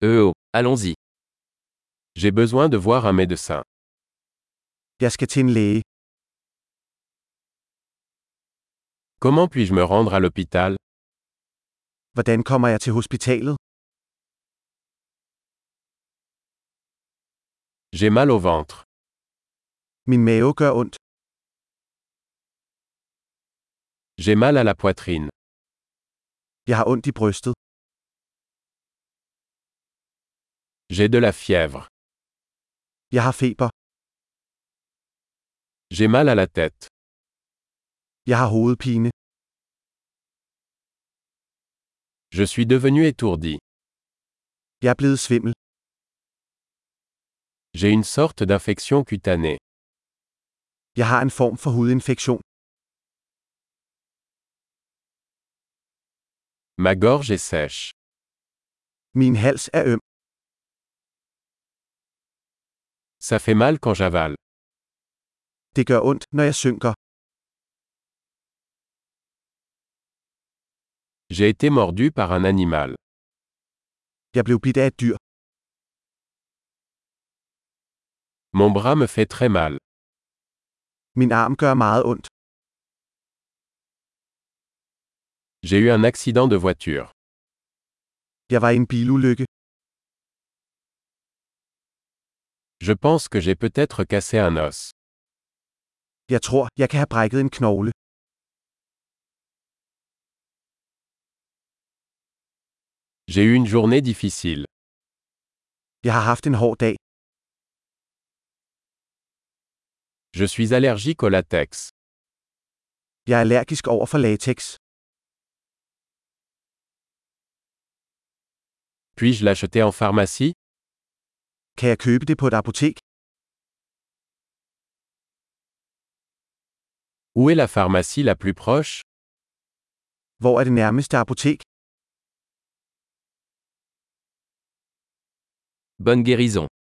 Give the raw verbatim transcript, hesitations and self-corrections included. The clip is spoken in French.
Euh oh, allons-y. J'ai besoin de voir un médecin. Jeg skal til en læge. Comment puis-je me rendre à l'hôpital? Hvordan kommer jeg til hospitalet? J'ai mal au ventre. Min mave gør ondt. J'ai mal à la poitrine. Jeg har ondt i brystet. J'ai de la fièvre. Jeg har feber. J'ai mal à la tête. Jeg har hovedpine. Je suis devenu étourdi. Jeg er blevet svimmel. J'ai une sorte d'infection cutanée. Jeg har en form for hudinfektion. Ma gorge est sèche. Min hals er øm. Ça fait mal quand j'avale. Det gør ondt, når jeg synker. J'ai été mordu par un animal. Jeg blev bidt af et dyr. Mon bras me fait très mal. Min arm gør meget ondt. J'ai eu un accident de voiture. Jeg var i en bilulykke. Je pense que j'ai peut-être cassé un os. Jeg tror, jeg kan have brækket en knogle. J'ai eu une journée difficile. Jeg har haft en hård dag. Je suis allergique au latex. Jeg er allergisk over for latex. Puis-je l'acheter en pharmacie? Kan jeg købe det på et apotek? Où est la pharmacie la plus proche? Hvor er det nærmeste apotek? Bonne guérison.